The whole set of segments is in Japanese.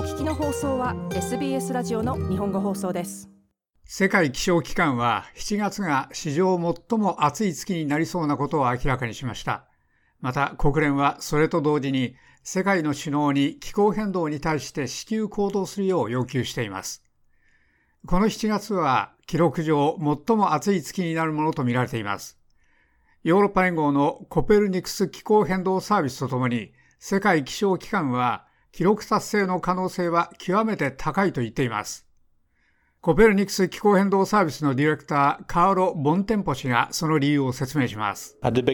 聞きの放送は SBS ラジオの日本語放送です。 世界気象機関は7月が史上最も暑い月になりそうなことを明らかにしました。また国連はそれと同時に世界の首脳に気候変動に対して至急行動するよう要求しています。この7月は記録上最も暑い月になるものとみられています。ヨーロッパ連合のコペルニクス気候変動サービスとともに世界気象機関は記録達成の可能性は極めて高いと言っています。コペルニクス気候変動サービスのディレクター、カーロ・ボンテンポ氏がその理由を説明します。 6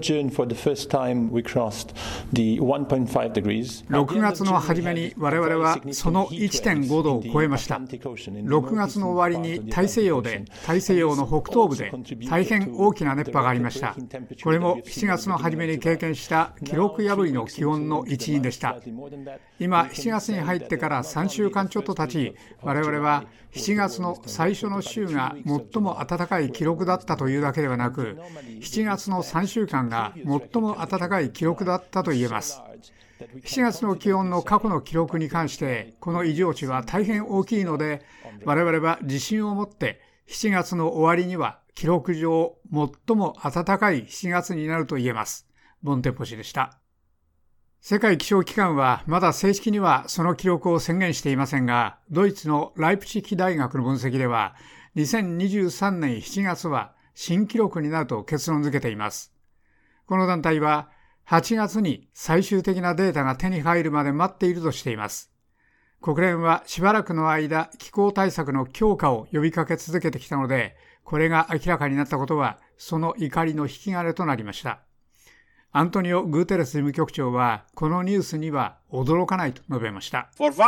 月の初めに我々はその 1.5 度を超えました。6月の終わりに大西洋の北東部で大変大きな熱波がありました。これも7月の初めに経験した記録破りの気温の一因でした。今7月に入ってから3週間ちょっと経ち、我々は7月の最初の週が最も暖かい記録だったというだけではなく、7月の3週間が最も暖かい記録だったと言えます。7月の気温の過去の記録に関してこの異常値は大変大きいので、我々は自信を持って7月の終わりには記録上最も暖かい7月になると言えます。ボンテンポ氏でした。世界気象機関はまだ正式にはその記録を宣言していませんが、ドイツのライプチヒ大学の分析では2023年7月は新記録になると結論付けています。この団体は8月に最終的なデータが手に入るまで待っているとしています。国連はしばらくの間気候対策の強化を呼びかけ続けてきたので、これが明らかになったことはその怒りの引き金となりました。アントニオ・グーテレス事務局長はこのニュースには驚かないと述べました。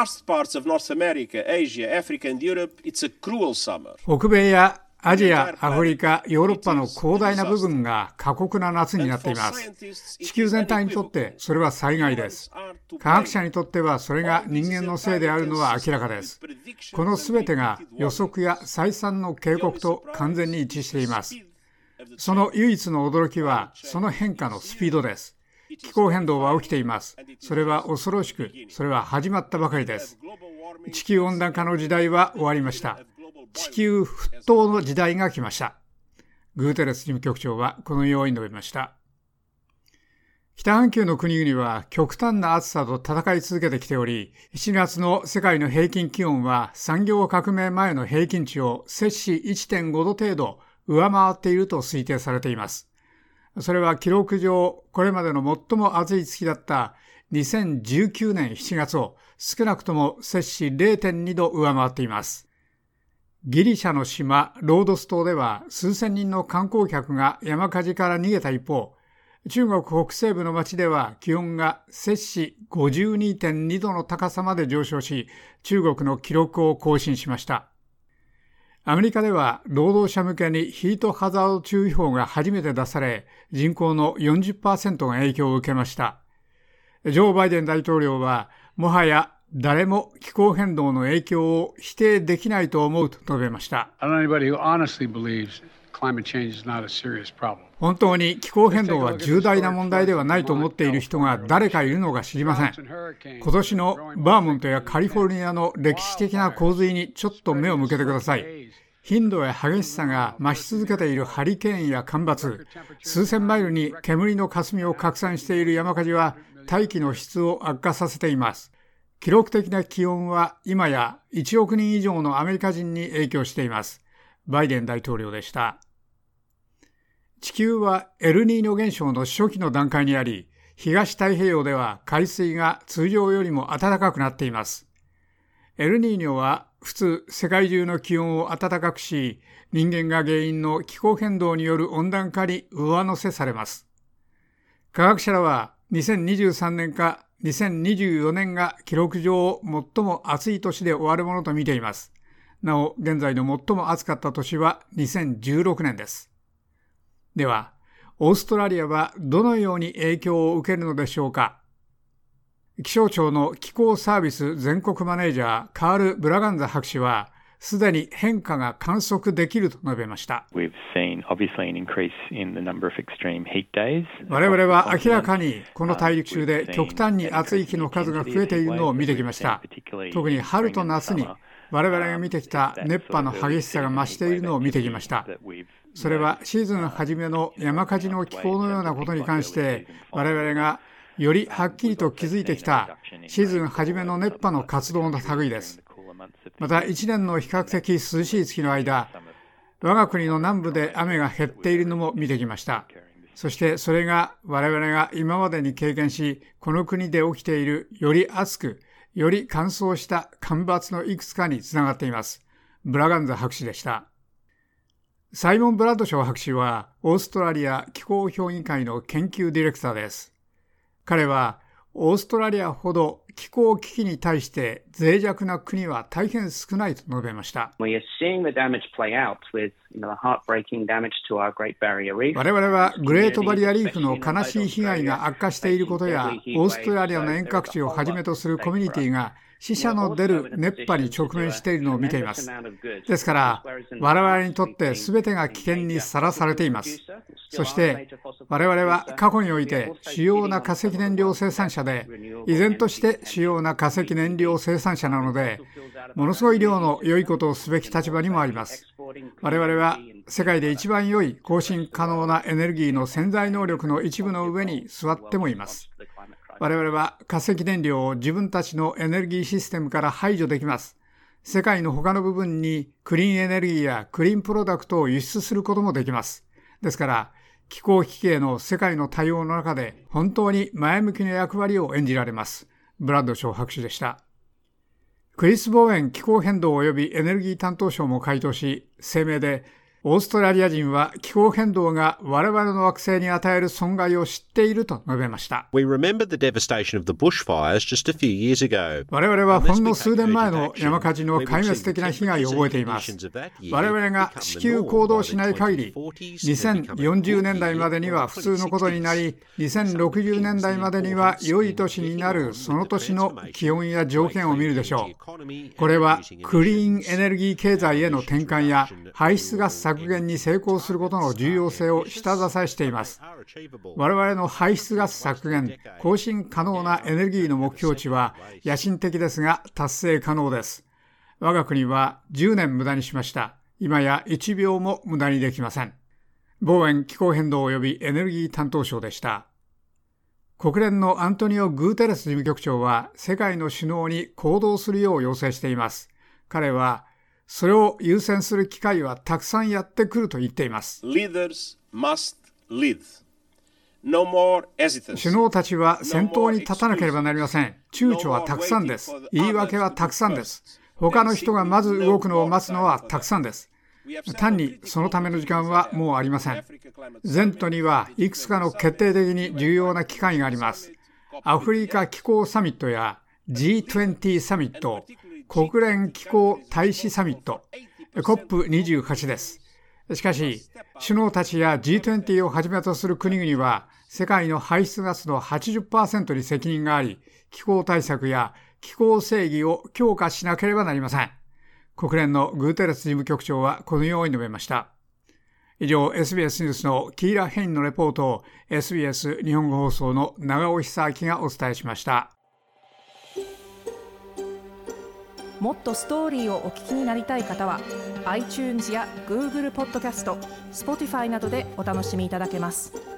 北米やアジア、アフリカ、ヨーロッパの広大な部分が過酷な夏になっています。地球全体にとってそれは災害です。科学者にとってはそれが人間のせいであるのは明らかです。このすべてが予測や再三の警告と完全に一致しています。その唯一の驚きはその変化のスピードです。気候変動は起きています。それは恐ろしく、それは始まったばかりです。地球温暖化の時代は終わりました。地球沸騰の時代が来ました。グーテレス事務局長はこのように述べました。北半球の国々は極端な暑さと戦い続けてきており、7月の世界の平均気温は産業革命前の平均値を摂氏 1.5 度程度上回っていると推定されています。それは記録上これまでの最も暑い月だった2019年7月を少なくとも摂氏 0.2 度上回っています。ギリシャの島ロードス島では数千人の観光客が山火事から逃げた一方、中国北西部の町では気温が摂氏 52.2 度の高さまで上昇し、中国の記録を更新しました。アメリカでは労働者向けにヒートハザード注意報が初めて出され、人口の 40% が影響を受けました。ジョー・バイデン大統領は、もはや誰も気候変動の影響を否定できないと思うと述べました。本当に気候変動は重大な問題ではないと思っている人が誰かいるのか知りません。今年のバーモントやカリフォルニアの歴史的な洪水にちょっと目を向けてください。頻度や激しさが増し続けているハリケーンや干ばつ、数千マイルに煙の霞を拡散している山火事は大気の質を悪化させています。記録的な気温は今や1億人以上のアメリカ人に影響しています。バイデン大統領でした。地球はエルニーニョ現象の初期の段階にあり、東太平洋では海水が通常よりも暖かくなっています。エルニーニョは普通世界中の気温を暖かくし、人間が原因の気候変動による温暖化に上乗せされます。科学者らは2023年か2024年が記録上最も暑い年で終わるものと見ています。なお、現在の最も暑かった年は2016年です。では、オーストラリアはどのように影響を受けるのでしょうか。気象庁の気候サービス全国マネージャーカール・ブラガンザ博士は、 すでに変化が観測できると述べました。我々は明らかにこの大陸中で極端に暑い日の数が増えているのを見てきました。特に春と夏に我々が見てきた熱波の激しさが増しているのを見てきました。それはシーズン初めの山火事の気候のようなことに関して我々がよりはっきりと気づいてきたシーズン初めの熱波の活動の類です。また1年の比較的涼しい月の間、我が国の南部で雨が減っているのも見てきました。そしてそれが我々が今までに経験し、この国で起きているより暑く、より乾燥した干ばつのいくつかにつながっています。ブラガンザ博士でした。サイモン・ブラッドショー博士はオーストラリア気候評議会の研究ディレクターです。彼はオーストラリアほど気候危機に対して脆弱な国は大変少ないと述べました。我々はグレートバリアリーフの悲しい被害が悪化していることや、オーストラリアの遠隔地をはじめとするコミュニティが死者の出る熱波に直面しているのを見ています。ですから我々にとって全てが危険にさらされています。そして我々は過去において主要な化石燃料生産者で、依然として主要な化石燃料生産者なので、ものすごい量の良いことをすべき立場にもあります。我々は世界で一番良い更新可能なエネルギーの潜在能力の一部の上に座ってもいます。我々は化石燃料を自分たちのエネルギーシステムから排除できます。世界の他の部分にクリーンエネルギーやクリーンプロダクトを輸出することもできます。ですから気候危機への世界の対応の中で本当に前向きな役割を演じられます。ブラッドショー博士でした。クリス・ボーエン気候変動及びエネルギー担当相も回答し、声明でオーストラリア人は気候変動が我々の惑星に与える損害を知っていると述べました。我々はほんの数年前の山火事の壊滅的な被害を覚えています。我々が至急行動しない限り、2040年代までには普通のことになり、2060年代までには良い年になるその年の気温や条件を見るでしょう。これはクリーンエネルギー経済への転換や排出ガス削減に成功することの重要性を下支えしています。我々の排出ガス削減、更新可能なエネルギーの目標値は野心的ですが達成可能です。我が国は10年無駄にしました。今や1秒も無駄にできません。ボーエン気候変動及びエネルギー担当相でした。国連のアントニオ・グーテレス事務局長は世界の首脳に行動するよう要請しています。彼はそれを優先する機会はたくさんやってくると言っています。首脳たちは先頭に立たなければなりません。躊躇はたくさんです。言い訳はたくさんです。他の人がまず動くのを待つのはたくさんです。単にそのための時間はもうありません。前途にはいくつかの決定的に重要な機会があります。アフリカ気候サミットや G20 サミット、国連気候大使サミット、COP28 です。しかし、首脳たちや G20 をはじめとする国々は、世界の排出ガスの 80% に責任があり、気候対策や気候正義を強化しなければなりません。国連のグーテレス事務局長はこのように述べました。以上、SBS ニュースのキーラ・ヘインのレポートを SBS 日本語放送の長尾久明がお伝えしました。 もっとストーリーをお聞きになりたい方は iTunes や Google ポッドキャスト、Spotify などでお楽しみいただけます。